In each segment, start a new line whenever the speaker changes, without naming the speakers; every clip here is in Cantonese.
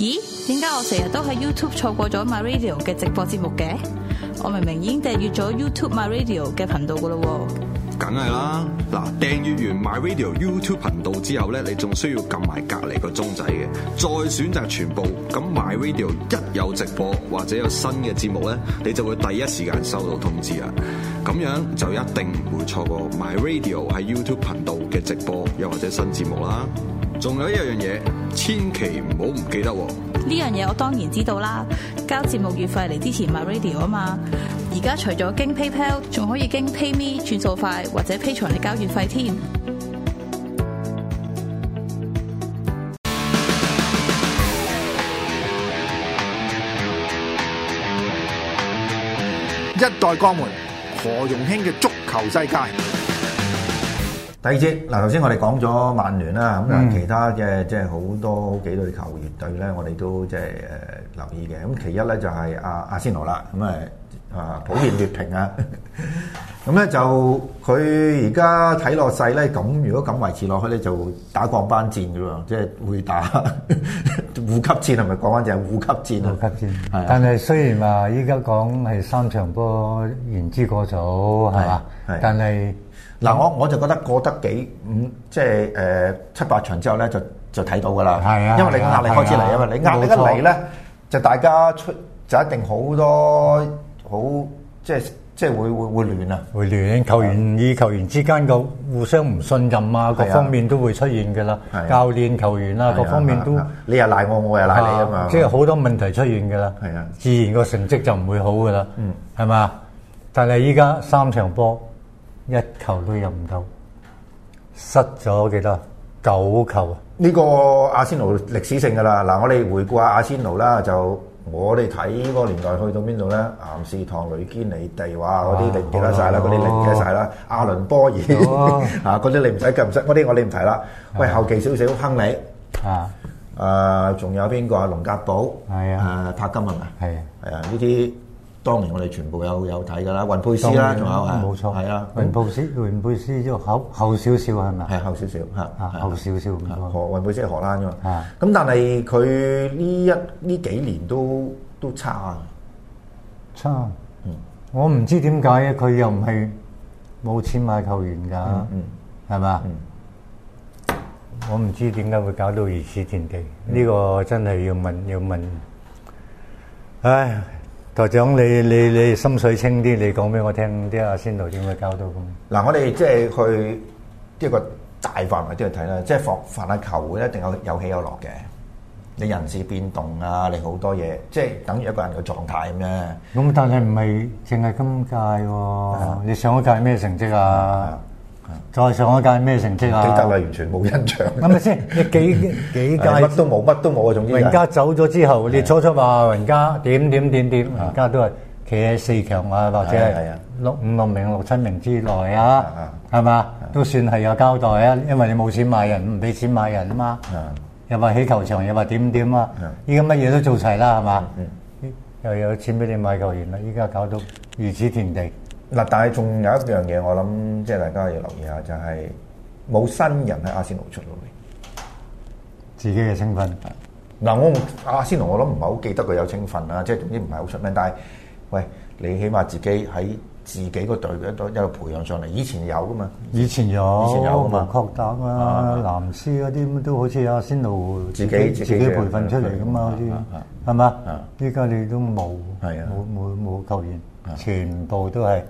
咦？點解我成日都喺 YouTube 錯過咗 My Radio 嘅直播節目嘅？我明明已經訂閱咗 YouTube My Radio 嘅頻道噶咯喎。
梗係啦，嗱，訂閱完 My Radio YouTube 頻道之後咧，你仲需要撳埋隔離個鐘仔嘅，再選擇全部。咁 My Radio 一有直播或者有新嘅節目咧，你就會第一時間收到通知啦。咁樣就一定唔會錯過 My Radio 喺 YouTube 頻道嘅直播又或者新節目啦。仲有一樣嘢，千祈唔好唔記得喎。
呢樣嘢我當然知道啦，交節目月費嚟支持 My Radio 啊嘛。而家除咗經 PayPal， 仲可以經 PayMe 轉數快或者 Patreon嚟交月費添。
一代鋼門何容興嘅足球世界。
第二節嗱，頭先我哋講咗曼聯啦，咁其他嘅即係好多幾隊球員隊咧，我哋都即係留意嘅。咁其一咧就係阿仙奴啦，咁普遍劣評啊。咁咧就佢而家睇落勢咧，咁如果咁維持落去咧，就打降班戰嘅喎，即係會打護級戰，係咪講翻就係護級戰啊？
護級戰係，但係雖然話依家講係3場波言之過早係嘛，但係
嗱我就覺得過得即係7、8場之後咧就睇到㗎啦。係啊，因為你壓力開始嚟啊嘛，你壓力一嚟咧，就大家就一定好多好即係會亂啊！
會亂，球員之間個互相唔信任啊，各方面都會出現㗎啦。教練、球員啊，各方面都
你又賴我，我又賴你啊嘛！
即係好多問題出現㗎啦。係啊，自然個成績就唔會好㗎啦。係嘛？但係依家3場波1球都入唔到，失咗幾多？9球啊！
呢個阿仙奴歷史性㗎啦。嗱，我哋回顧下阿仙奴啦，就我哋睇嗰個年代去到邊度咧？岩士唐、雷堅尼地，哇！嗰啲你唔記得晒啦，嗰啲你唔記得晒啦。阿倫波爾嗰啲你唔使記唔識，嗰啲我哋唔提啦。喂，後期少少亨利仲有邊個啊？龍格堡柏金係咪？係啊，呢啲當年我哋全部有睇㗎啦。雲佩斯啦，仲有
冇錯係啊。雲佩斯都後少少係咪？係後少少嚇，後少少咁多。
雲佩斯係荷蘭㗎嘛？咁但係佢呢幾年都差。
我唔知點解佢又唔係冇錢買球員㗎，係嘛？我唔知點解會搞到如此田地。呢個真係要問。唉，台長你心水清啲，你講俾我聽啲阿仙奴點會搞到咁？
嗱，我哋即係去一個大範圍啲去睇啦，即係凡係球會一定有起有落嘅。你人事變動啊，你好多嘢，即係等於一個人嘅狀態咁啫。
咁但係唔係淨係今屆喎？你上一屆咩成績啊？再上一屆咩成績啊？
記得啦，完全冇印象。
係咪先？你幾屆
乜都冇啊！總之
人家走咗之後，你初話人家點，人家都係企喺4強啊，或者係5、6名、6、7名之內啊，係嘛？都算係有交代啊，因為你冇錢買人，唔俾錢買人啊嘛。又話起球場，又話點啊！依家乜嘢都做齊啦，係嘛？又有錢俾你買球員啦，依家搞到如此田地。
嗱，但係仲有一樣嘢，我諗即係大家要留意下，就係冇新人喺阿仙奴出到嚟，
自己嘅青訓。
嗱，阿仙奴我諗唔係好記得佢有青訓啦，即係總之唔係好出名。但係，喂，你起碼自己喺自己個隊一路培養上嚟，以前有噶嘛？
以前有㗎嘛？確達
啊、
藍斯嗰啲都好似阿仙奴自己培訓出嚟噶嘛？好似係嘛？依家你都冇球員。全部都係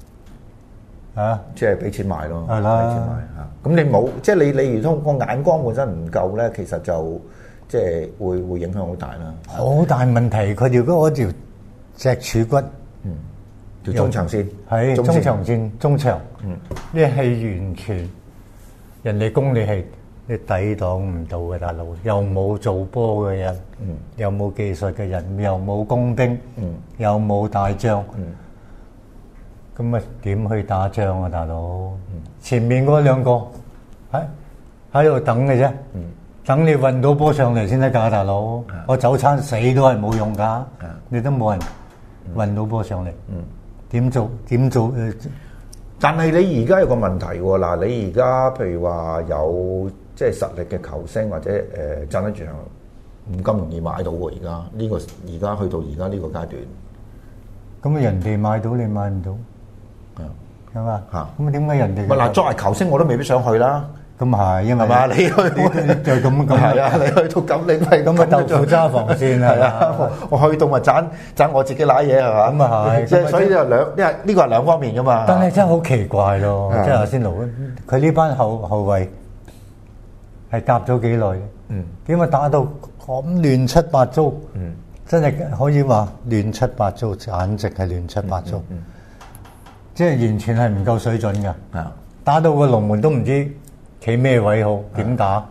即係俾錢買咯，
係啦，俾錢買
嚇。咁你冇，即係你如通個眼光本身唔夠咧，其實就即係會影響好大啦。
好大問題，佢哋嗰條脊柱骨，
條中長線
係中長線中場，呢係完全人哋攻你係你抵擋唔到嘅，大佬又冇做波嘅人，又冇技術嘅人，又冇工兵，又冇大將，咁啊點去打仗啊，大佬？前面嗰2個喺度等嘅啫，等你運到波上嚟先得㗎，大佬。我早餐死都係冇用㗎，你都冇人運到波上嚟，點做？
但係你而家有個問題喎，嗱，你而家譬如話有即係實力嘅球星或者站得住唔咁容易買到喎。而家去到而家呢個階段，
咁人哋買到你買唔到，係嘛？咁點解人哋？
嗱，作為球星我都未必想去啦。
咁係，因為
係嘛？你去
就咁
係啊！你去到咁，你咪
咁啊豆腐揸防線
係啊！我去到咪賺我自己揦嘢係嘛？
咁啊係，
即係所以就呢個係兩方面噶嘛。
但係真係好奇怪咯，即係阿仙奴佢呢班後衞係夾咗幾耐？點解打到咁亂七八糟？真係可以話亂七八糟，簡直係亂七八糟。即係完全係唔夠水準㗎。打到個龍門都唔知企咩位好，點打？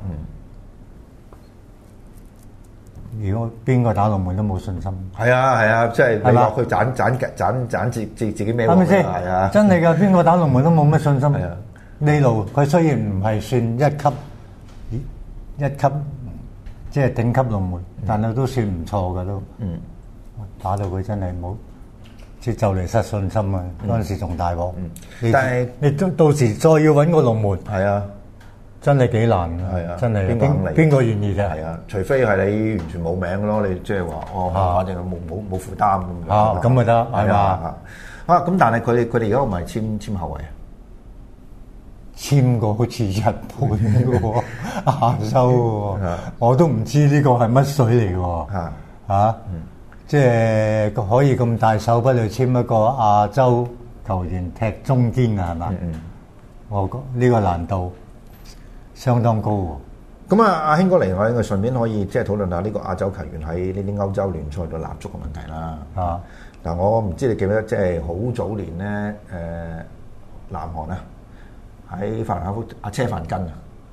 如果邊個打龍門都冇信心。
係啊，即係你落去斬自己咩？
係咪先？
係啊，
真係㗎，邊個打龍門都冇乜信心。呢路佢雖然唔係算一級，即係頂級龍門，但係都算唔錯㗎都。打到佢真係冇，即係就嚟失信心啊！嗰陣時仲大鑊。但係你到時再要揾個龍門，
係啊。
真係幾難㗎，
係啊！
真係邊個願意啫？
係啊，除非係你完全冇名嘅咯，你即係話反正冇負擔咁樣。
咁咪得係嘛？
咁但係佢哋而家唔係簽後衞啊？
簽過好似日本嘅喎，亞洲喎，我都唔知呢個係乜水嚟嘅喎。即係可以咁大手筆去簽一個亞洲球員踢中堅啊？係嘛？我覺呢個難度相當高喎。
咁阿興哥嚟，我應該順便可以即係討論下呢個亞洲球員喺呢啲歐洲聯賽度立足嘅問題啦。嗱，我唔知你記唔記得，即係好早年咧，南韓啊，喺法蘭克福阿車范根啊，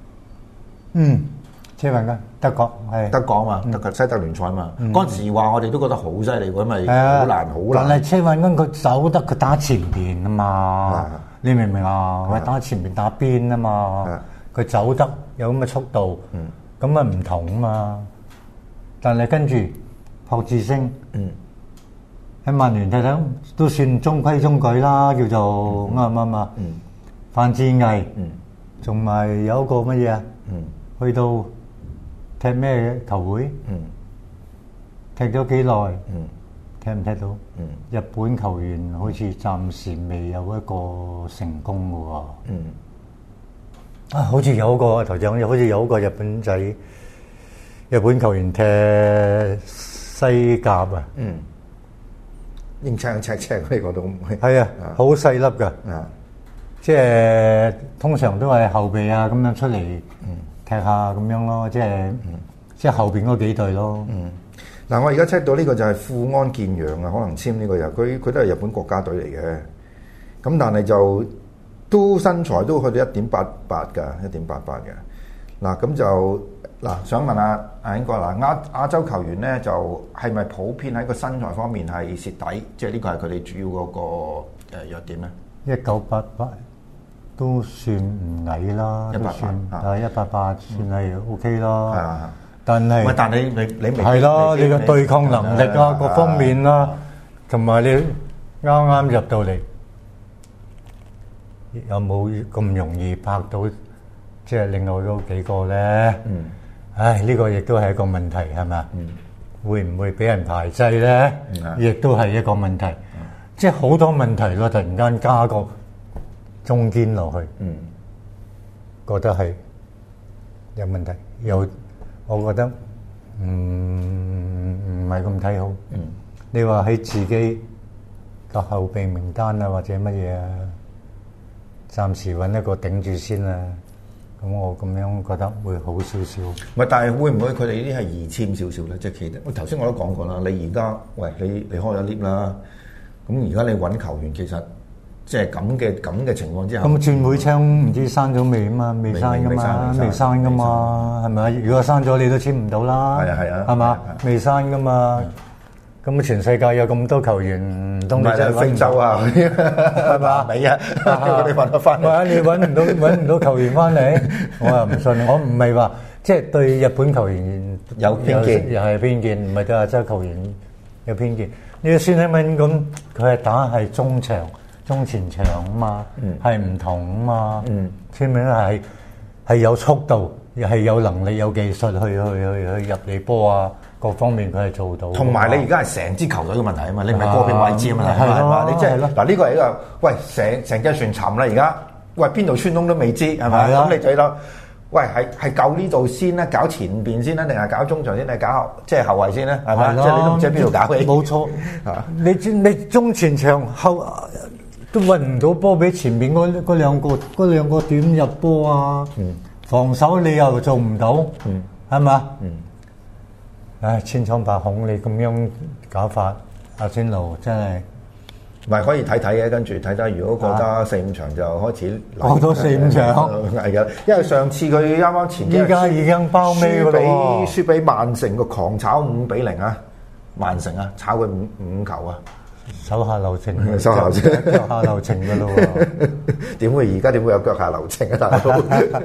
車范根德國係
德國啊嘛，德國西德聯賽啊嘛。嗰陣時話我哋都覺得好犀利喎，因為好難。
但係車范根佢走得佢打前邊啊嘛，你明唔明啊？佢打前邊打邊啊嘛。佢走得有咁嘅速度，咁啊唔同啊嘛。但係跟住朴智星喺曼聯睇睇都算中規中矩啦，叫做啱唔啱啊？范志毅，仲埋有一個乜嘢啊？去到踢咩球會？踢咗幾耐？踢唔踢到？日本球員好似暫時未有一個成功嘅喎。好似有個頭像，好似有個日本仔、日本球員踢西甲啊，英青赤赤呢個都係啊，好細粒㗎，即係通常都係後備啊咁樣出嚟踢下咁樣咯，即係後邊嗰幾隊咯。
嗱，我而家 check 到呢個就係富安健洋啊，可能簽呢個人，佢都係日本國家隊嚟嘅，咁但係就。都身材都去到 1.88 㗎，1.88嘅。嗱咁就想問下阿興哥亞洲球員咧，就係咪普遍喺個身材方面係蝕底？即係呢個係佢哋主要嗰個弱點咧
？1988都算唔矮啦，188算係 OK 啦。但係
你
係咯，你嘅對抗能力啊，各方面啦，同埋你啱啱入到嚟。有冇咁容易拍到即係另外嗰幾個咧？呢個亦都係一個問題，係咪？會唔會俾人排擠咧？亦都係一個問題。即係好多問題咯，突然間加個中堅落去，覺得係有問題。我覺得唔係咁睇好。你話喺自己個後備名單啊，或者乜嘢啊？暫時揾一個頂住先啦，咁我咁樣覺得會好少少。
唔係，但係會唔會佢哋呢啲係易簽少少咧？即係其實我頭先我都講過啦，你而家你開咗 lift 啦，咁而家你揾球員其實即係咁嘅情況之下，
咁轉會窗唔知刪咗未啊嘛？未刪噶嘛？未刪噶嘛？係咪？如果刪咗你都簽唔到啦。係啊，係嘛？未刪噶嘛？咁全世界有咁多球員，唔通你真係
非洲啊？係嘛？未啊？你揾得翻？
唔係你揾唔到球員翻嚟，我又唔信。我唔係話即係對日本球員
有偏見，
又係偏見，唔係對亞洲球員有偏見。你孫興慜咁，佢係打係中場、中前場啊嘛，係唔同啊嘛。孫興慜係有速度、 係有能力有技術去入你波啊，各方面佢係做到。
同埋你而家係成支球隊嘅問題啊嘛，你唔係個別位置嘅問題啊嘛，你即係嗱呢個係一個喂成隻船沉啦而家，喂邊度穿窿都未知係咪？咁你就諗，喂係救呢度先咧，搞前邊先咧，定係搞中場先，定係搞即係後衞先咧？係咪？即係你都唔知喺邊度搞起。
冇錯，你中前場後都運唔到波俾前面嗰兩個點入波啊！防守你又做唔到，係嘛？唉，千瘡百孔，你咁樣搞法，阿仙奴真係
唔係可以睇睇嘅，跟住睇睇，如果過得4-5場就開始
過多4-5場
係嘅，因為上次佢啱啱前
依家已經包尾㗎咯，
輸俾曼城個狂炒5-0啊！曼城啊，炒佢五球啊！
手下留情，手下留情㗎咯喎！
點會而家點會有腳下留情啊，大佬？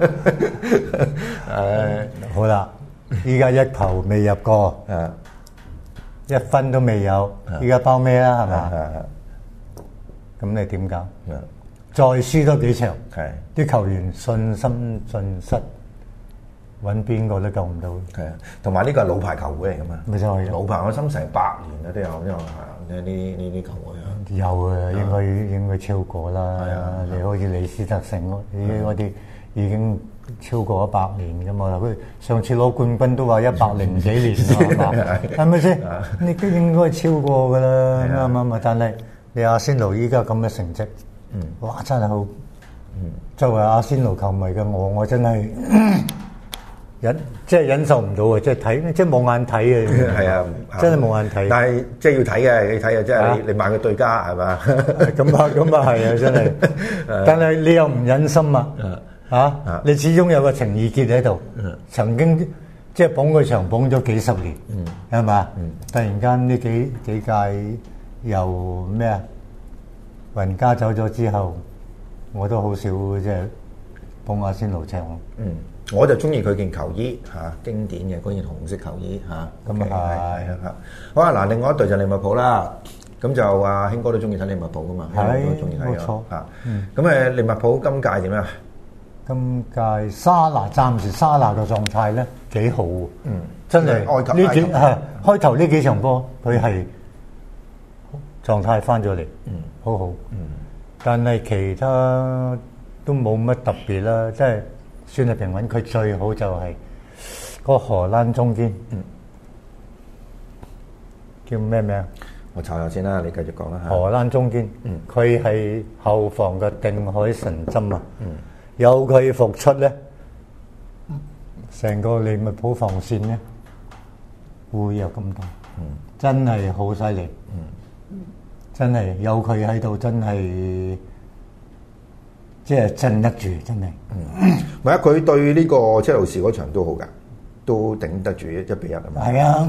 好啦，依家一球未入過，一分都未有，依家包咩啦？係嘛？咁你點搞？再輸多幾場，啲球員信心盡失，揾邊個都救唔到。
係啊，同埋呢個係老牌球會嚟噶嘛？
咪就係
老牌，我心成100年啦都有，因為呢啲球會啊，
有啊，應該超過啦。係啊，你好似李斯特城嗰啲已經超過100年噶嘛。佢上次攞冠軍都話100幾年啦，係咪先？你都應該超過噶啦，啱唔啱？但係你阿仙奴依家咁嘅成績，哇真係好。作為阿仙奴球迷嘅我真係忍受唔到啊！即係睇，即係冇眼睇啊！係啊，真係冇眼睇。但係即係要睇嘅，你睇啊！即係你買個對家係嘛？咁啊係啊！真係。但係你又唔忍心啊！你始終有個情意結喺度，曾經即係捧佢場捧咗幾十年，係嘛？突然間呢幾屆又咩啊？雲加走咗之後，我都好少即係捧阿仙奴場。我就中意佢件球衣經典嘅嗰件紅色球衣咁係好啊！嗱，另外一隊就利物浦啦，咁就阿興哥都中意睇利物浦噶嘛，都中意睇咁利物浦今屆點啊？今屆暫時沙拿嘅狀態咧幾好，真係開頭呢幾場波佢係狀態翻咗嚟，好好，但係其他都冇乜特別啦，即係。算係平穩，佢最好就係個荷蘭中堅，叫咩名？我查下先啦，你繼續講啦。荷蘭中堅，佢係後防嘅定海神針啊！有佢復出咧，成個利物浦防線咧會有咁多，真係好犀利，真係有佢喺度，真係。即係鎮得住，真係。唔係啊！佢對呢個車路士嗰場都好㗎，都頂得住1-1啊嘛。係啊，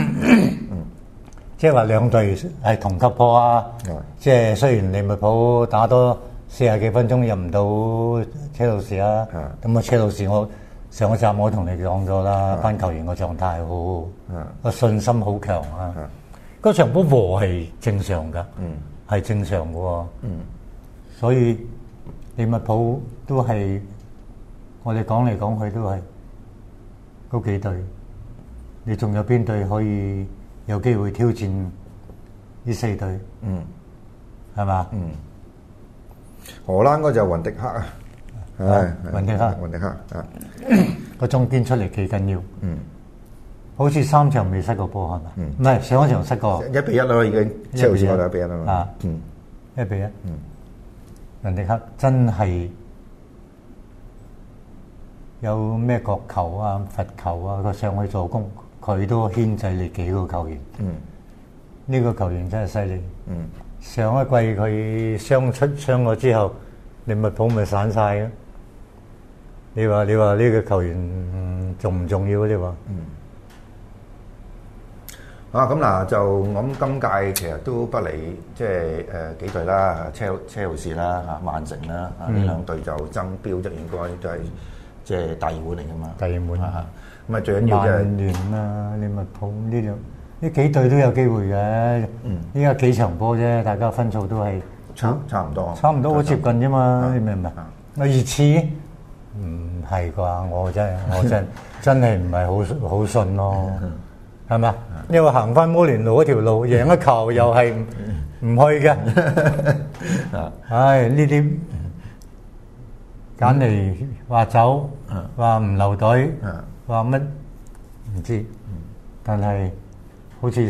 即係話兩隊係同級波啊。即係雖然利物浦打多40幾分鐘入唔到車路士啊，咁啊車路士我上一集我同你講咗啦，班球員個狀態好，個信心好強啊。嗰場波和係正常㗎，係正常嘅喎。所以。利物浦都係我哋講嚟講去都係嗰幾隊，你仲有邊隊可以有機會挑戰呢4隊？係嘛？荷蘭嗰就雲迪克啊，雲迪克啊，個中堅出嚟幾緊要。好似3場未失過波係嘛？唔係上一場失過1-1咯，已經車路士嗰度1-1啦嘛。1-1。雲迪克真係有咩角球啊、罰球啊，佢上去助攻，佢都牽制你幾個球員。呢個球員真係犀利。上一季佢傷咗之後，利物浦咪散晒咯。你話呢個球員重唔重要？你話？咁嗱就我諗今屆其實都不離即係幾隊啦，車路士啦曼城啦呢兩隊就爭標，就應該都係即係大熱門嚟㗎嘛。大熱門咁啊，最緊要就係曼聯啦、利物浦呢幾隊都有機會嘅。依家幾場波啫，大家分數都係差唔多，好接近啫嘛。你明唔明？熱刺唔係啩？我真係唔係好信咯，係嘛？因為行翻摩連奴嗰條路，贏一球又係唔去嘅。唉，呢啲揀嚟話走，話唔留隊，話乜唔知，但係好似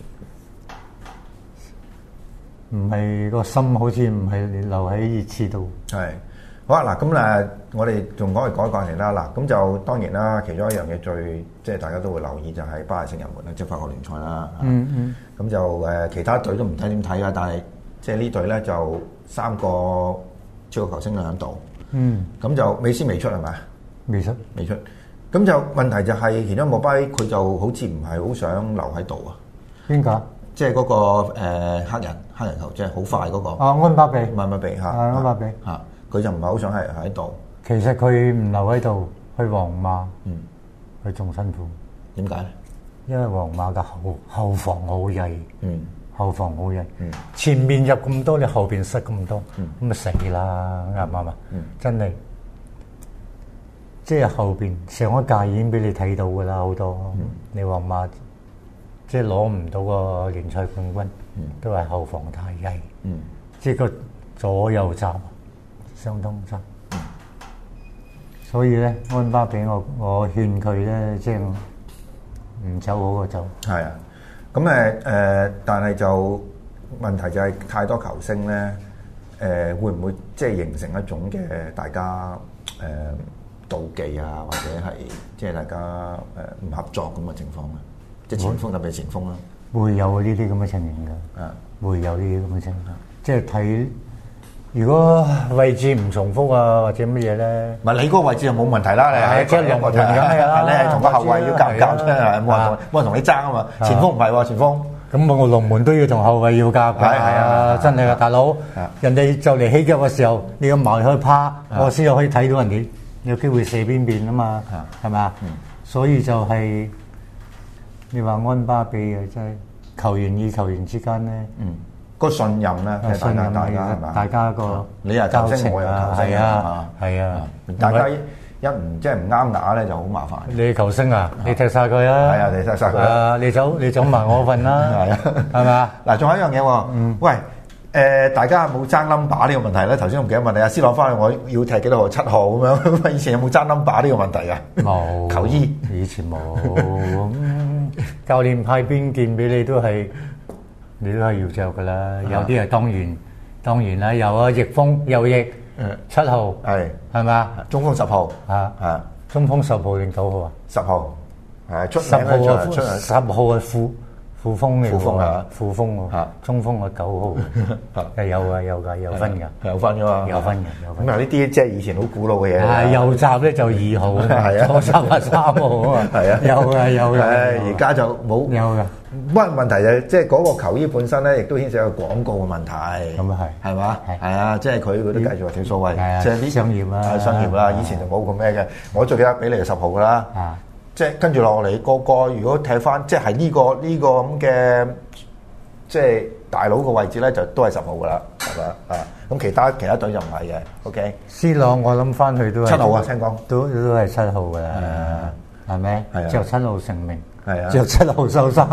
唔係個心，好似唔係留喺熱刺度。
係好啊！嗱，咁誒，我哋仲講嚟啦。嗱，咁就當然啦，其中一樣嘢最即係大家都會留意就係巴黎聖日門啦，即係法國聯賽啦。咁就其他隊都唔睇點睇啊，但係即係呢隊咧就3個超級球星喺度。咁就美斯未出係咪？未出。咁就問題就係其中莫巴佢就好似唔係好想留喺度啊。
邊個？
即係嗰個黑人球，即係好快嗰個。
安巴比。
安巴比嚇。
安巴比
嚇。佢就唔係好想喺度。
其實佢唔留喺度，去皇馬，佢仲辛苦。點解咧？因為皇馬嘅後防好曳，後防好曳。前面入咁多，你後邊失咁多，咁咪死啦！啱唔啱啊？真係，即係後邊上一屆已經俾你睇到㗎啦，好多。你皇馬即係攞唔到個聯賽冠軍，都係後防太曳。即係個左右閘相當差。所以咧，安巴比我勸佢咧，即係唔走好過走。係啊，咁但係就問題就係太多球星咧，會唔會即係形成一種嘅大家妒忌啊，或者係即係大家唔合作咁嘅情況咧？即係前鋒特別係前鋒啦，會有呢啲咁嘅情形㗎。會有呢啲咁嘅情況，即係睇。如果位置唔重複啊，或者乜嘢咧？唔係你嗰個位置就冇問題啦，你係即係兩個團咁係啦。你係同個後衞要夾唔夾啫？係冇人同你爭啊嘛。前鋒唔係喎，前鋒咁我龍門都要同後衞要夾㗎。係啊，真係啊，大佬。人哋就嚟起腳嘅時候，你要埋去趴，我先可以睇到人哋有機會射邊啊嘛，係咪啊？所以就係你話安巴比啊，真係球員與球員之間咧。個信任咧，信任大家係嘛？大家個你又球星，我又球星係啊！大家一唔即係唔啱牙咧，就好麻煩。你球星啊，你踢晒佢啊！係啊，你踢晒佢。你走埋我份啦，係啊，係咪啊？嗱，仲有一樣嘢喎，喂，大家有冇爭 number 呢個問題咧？頭先我唔記得問你，阿C朗翻去我要踢幾多號7號咁樣？以前有冇爭 number 呢個問題啊？冇球衣，以前冇。教練派邊件俾你都係。你都係要着噶啦，有啲係當然啦，有啊，翼鋒右翼7號係咪啊？中鋒10號中鋒10號定9號啊？10號係出10號啊，10號係副鋒嚟喎，副鋒喎，中鋒係9號，係有分㗎，有分㗎嘛，有分嘅。咁啊呢啲即係以前好古老嘅嘢。係右閘咧就2號，左閘係3號啊嘛，係啊，有嘅。而家就冇有嘅。不過問題就即係嗰個球衣本身咧，亦都牽涉一個廣告嘅問題。咁啊係嘛？係啊，即係佢都繼續話條數位，即係啲商業啦，商業啦。以前就冇咁咩嘅。我最記得俾你係10號噶啦。即係跟住落嚟個如果睇翻，即係呢個咁嘅即係大佬個位置咧，就都係10號噶啦，係嘛啊？咁其他隊就唔係嘅。OK。C朗我諗翻去都係7號啊，聽講都係7號噶啦，係咪？之後7號成名。係啊，着7號收衫，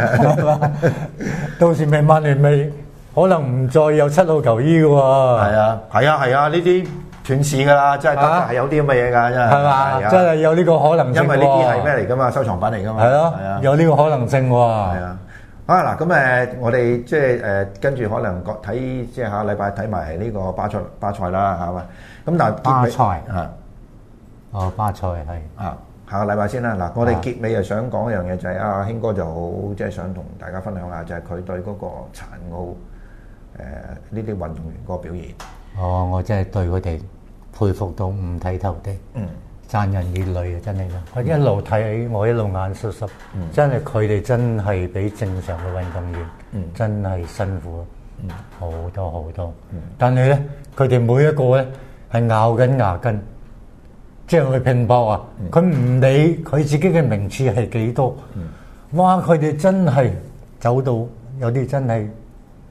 到時咪曼聯咪可能唔再有7號球衣嘅喎。係啊，呢啲斷市㗎啦，真係係有啲咁嘅嘢㗎，真係。係嘛？真係有呢個可能性。因為呢啲係咩嚟㗎嘛？收藏品嚟㗎嘛。係咯，有呢個可能性喎。係啊。嗱，咁我哋即係跟住可能睇即係下個禮拜睇埋呢個巴塞啦，係嘛？咁但係巴塞巴塞係下個禮拜先啦。嗱，我哋結尾又想講一樣嘢，就係阿興哥就好即係想同大家分享下，就係佢對嗰個殘奧呢啲運動員嗰個表現。我真係對佢哋佩服到五體投地，賺人熱淚啊！真係啦，我一路睇我一路眼濕濕，真係佢哋真係比正常嘅運動員真係辛苦好多。但係咧，佢哋每一個咧係咬緊牙根。即係去拼搏啊！佢唔理佢自己嘅名次係幾多，哇！佢哋真係走到有啲真係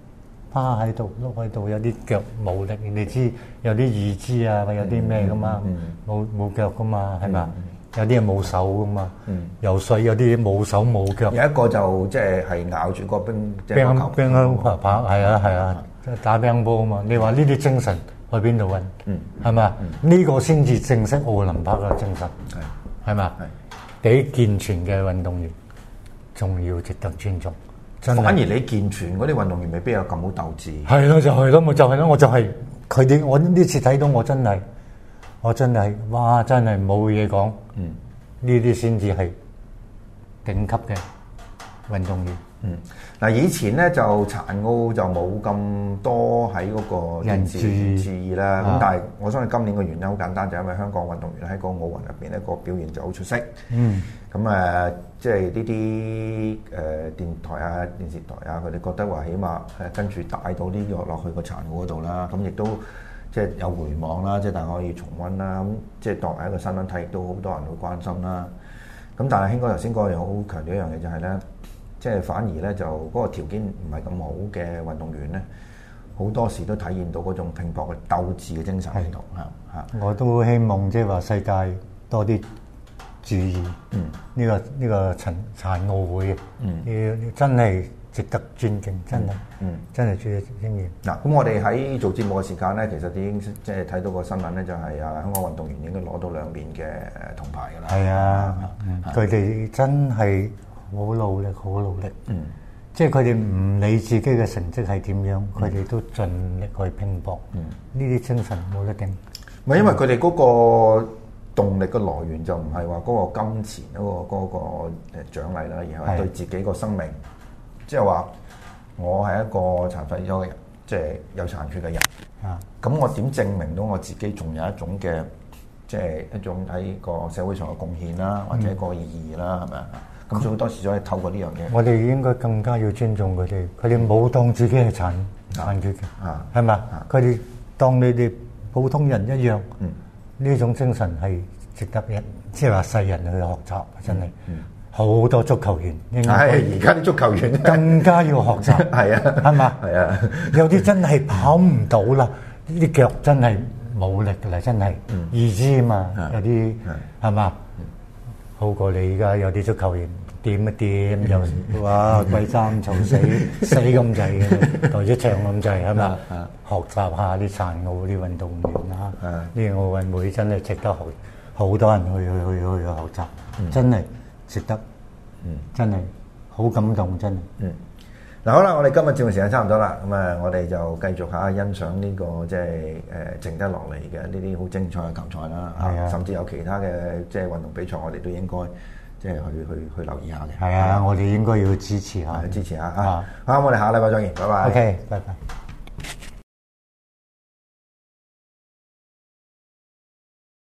趴喺度碌喺度，有啲腳冇力，你知有啲義肢啊，有啲咩噶嘛，冇腳噶嘛，係咪？有啲係冇手噶嘛，游水有啲冇手冇腳。
有一個就即係咬住個冰
乓係啊，打乒乓波啊嘛。你話呢啲精神去邊度揾？係咪？呢個先至正式奧林匹克嘅精神，係咪？比健全嘅運動員仲要值得尊重。
反而你健全嗰啲運動員未必有咁好鬥志。
係咯，就係咯，我就係佢哋。我呢次睇到我真係，哇！真係冇嘢講。呢啲先至係頂級嘅運動員。
嗱，以前咧就殘奧就冇咁多喺嗰個人注意啦。咁但係我相信今年嘅原因好簡單，就係因為香港運動員喺個奧運入邊咧個表現就好出色。咁即係呢啲電台啊、電視台啊，佢哋覺得話起碼跟住帶到呢個落去個殘奧嗰度啦。咁亦都即係有回望啦，即係大家可以重溫啦。咁即係當為一個新聞睇，亦都好多人會關心啦。咁但係興哥頭先講嘅好強調一樣嘢就係咧，即係反而咧就嗰個條件唔係咁好嘅運動員咧，好多時都體現到嗰種拼搏嘅鬥志嘅精神喺度嚇。
我都希望即係話世界多啲注意呢個殘奧會，要真係值得尊敬，真係值得尊敬。
嗱，咁我哋喺做節目嘅時間咧，其實已經即係睇到個新聞咧，就係香港運動員應該攞到2面嘅銅牌㗎啦。
係啊，佢哋真係好努力，即係佢哋唔理自己嘅成績係點樣，佢哋都盡力去拼搏。呢啲精神冇得頂。
唔係因為佢哋嗰個動力嘅來源就唔係話嗰個金錢嗰個獎勵啦，而係對自己個生命，即係話我係一個殘廢咗嘅人，即係有殘缺嘅人。咁我點證明到我自己仲有一種嘅，即係一種喺個社會上嘅貢獻啦，或者個意義啦，係咪啊？咁所以好多時就係透過呢樣嘢。我
哋應該更加要尊重佢哋，佢哋冇當自己係殘缺嘅，係嘛？佢哋當你哋普通人一樣。呢種精神係值得人，即係話世人去學習，真係好多足球員應該
而家啲足球員
更加要學習，
係啊，
係嘛？
係啊，
有啲真係跑唔到啦，呢啲腳真係冇力㗎啦，真係義肢啊嘛，有啲係嘛？好過你而家有啲足球員掂一掂又哇鬼爭嘈死咁滯嘅，袋咗場咁滯係嘛？學習下啲殘奧啲運動員啦，呢個奧運會真係值得好多人去學習，真係值得，真係好感動，真係。
嗱好啦，我哋今日節目時間差唔多啦，咁我哋就繼續下欣賞呢個即係剩得落嚟嘅呢啲好精彩嘅球賽啦，甚至有其他嘅即係運動比賽，我哋都應該即係去留意下嘅。
係啊，我哋應該要支持下，
支持下嚇。好，我哋下禮拜再見，拜拜。
OK，拜拜。